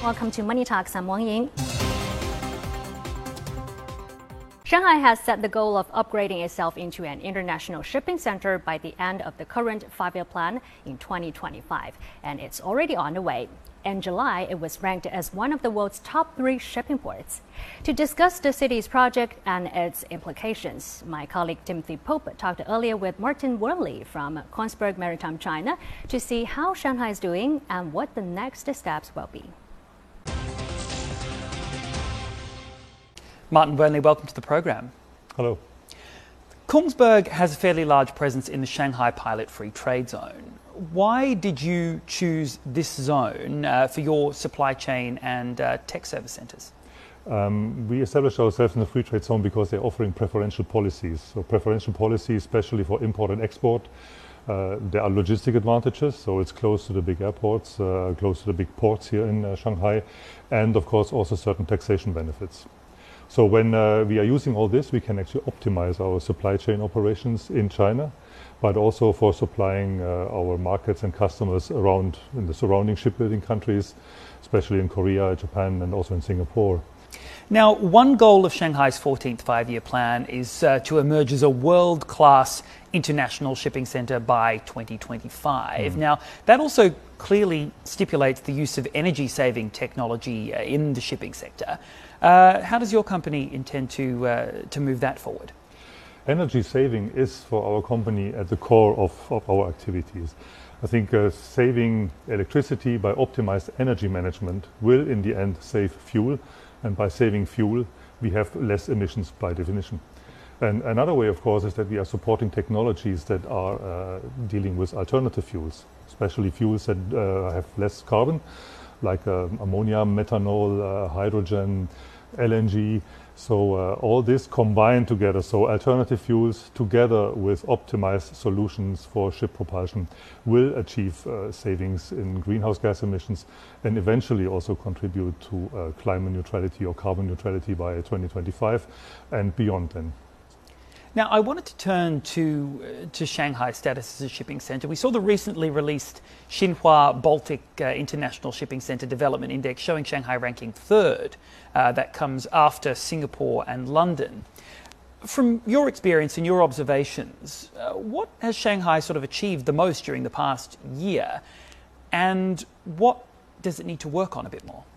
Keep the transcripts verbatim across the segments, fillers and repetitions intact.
Welcome to Money Talks. I'm Wang Ying. Shanghai has set the goal of upgrading itself into an international shipping center by the end of the current five-year plan in twenty twenty-five, and it's already on the way. In July, it was ranked as one of the world's top three shipping ports. To discuss the city's project and its implications, my colleague Timothy Pope talked earlier with Martin Worley from Kongsberg Maritime China to see how Shanghai is doing and what the next steps will be. Martin Burnley, welcome to the program. Hello. Kongsberg has a fairly large presence in the Shanghai Pilot Free Trade Zone. Why did you choose this zone uh, for your supply chain and uh, tech service centres? Um, we established ourselves in the free trade zone because they're offering preferential policies. So preferential policies, especially for import and export. Uh, there are logistic advantages, so it's close to the big airports, uh, close to the big ports here in uh, Shanghai, and of course also certain taxation benefits. So when uh, we are using all this, we can actually optimize our supply chain operations in China, but also for supplying uh, our markets and customers around in the surrounding shipbuilding countries, especially in Korea, Japan, and also in Singapore. Now, one goal of Shanghai's fourteenth five-year plan is uh, to emerge as a world-class international shipping centre by twenty twenty-five. Mm. Now, that also clearly stipulates the use of energy-saving technology uh, in the shipping sector. Uh, how does your company intend to, uh, to move that forward? Energy saving is for our company at the core of, of our activities. I think uh, saving electricity by optimized energy management will in the end save fuel, and by saving fuel we have less emissions by definition. And another way, of course, is that we are supporting technologies that are uh, dealing with alternative fuels, especially fuels that uh, have less carbon, like uh, ammonia, methanol, uh, hydrogen, L N G. So uh, all this combined together, so alternative fuels together with optimized solutions for ship propulsion will achieve uh, savings in greenhouse gas emissions and eventually also contribute to uh, climate neutrality or carbon neutrality by twenty twenty-five and beyond then. Now, I wanted to turn to, uh, to Shanghai's status as a shipping centre. We saw the recently released Xinhua Baltic uh, International Shipping Centre Development Index showing Shanghai ranking third. Uh, that comes after Singapore and London. From your experience and your observations, uh, what has Shanghai sort of achieved the most during the past year, and what does it need to work on a bit more?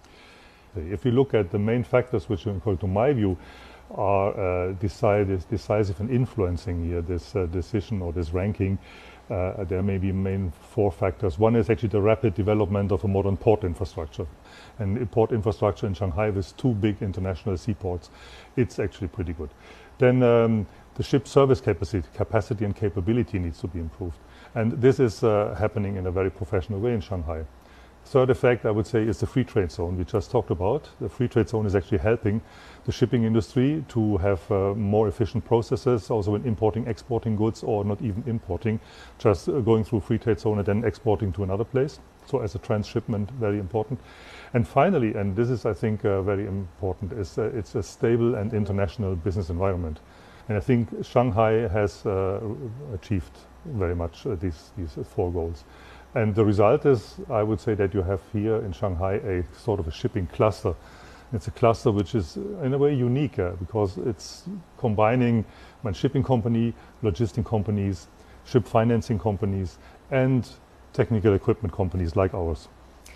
If you look at the main factors which, according to my view, are uh, decisive, decisive in influencing here this uh, decision or this ranking, uh, there may be main four factors. One is actually the rapid development of a modern port infrastructure. And port infrastructure in Shanghai with two big international seaports, it's actually pretty good. Then um, the ship service capacity, capacity and capability needs to be improved. And this is uh, happening in a very professional way in Shanghai. Third effect, I would say, is the free trade zone we just talked about. The free trade zone is actually helping the shipping industry to have uh, more efficient processes, also in importing, exporting goods, or not even importing, just uh, going through free trade zone and then exporting to another place. So as a transshipment, very important. And finally, and this is, I think, uh, very important, is uh, it's a stable and international business environment. And I think Shanghai has uh, achieved very much uh, these, these four goals. And the result is, I would say, that you have here in Shanghai a sort of a shipping cluster. It's a cluster which is in a way unique uh, because it's combining a shipping company, logistic companies, ship financing companies, and technical equipment companies like ours.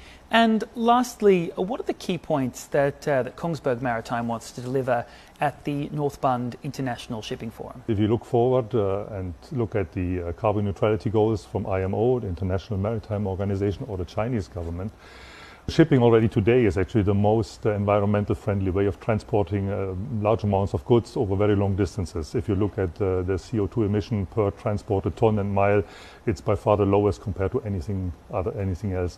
And lastly, what are the key points that, uh, that Kongsberg Maritime wants to deliver at the North Bund International Shipping Forum? If you look forward uh, and look at the uh, carbon neutrality goals from I M O, the International Maritime Organization, or the Chinese government, shipping already today is actually the most uh, environmental friendly way of transporting uh, large amounts of goods over very long distances. If you look at uh, the C O two emission per transported ton and mile, it's by far the lowest compared to anything other, anything else.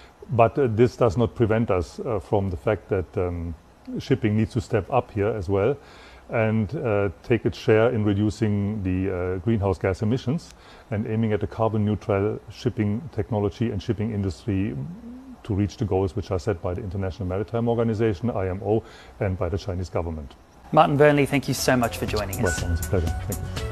But uh, this does not prevent us uh, from the fact that um, shipping needs to step up here as well and uh, take its share in reducing the uh, greenhouse gas emissions and aiming at a carbon neutral shipping technology and shipping industry to reach the goals which are set by the International Maritime Organization, I M O, and by the Chinese government. Martin Burnley, thank you so much for joining us. Well, it's a pleasure. Thank you.